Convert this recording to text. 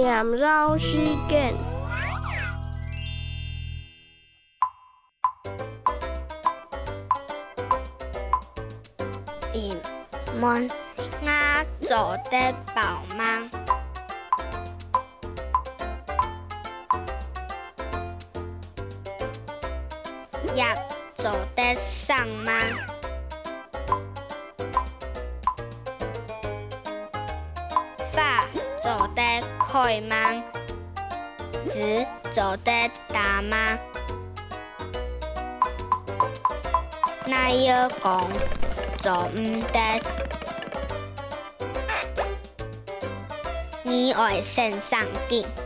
念绕时間。 閉門我做得飽嗎？藥做得上嗎？發做得開嗎？字做得大嗎？那要講做唔得，你愛線上鏡。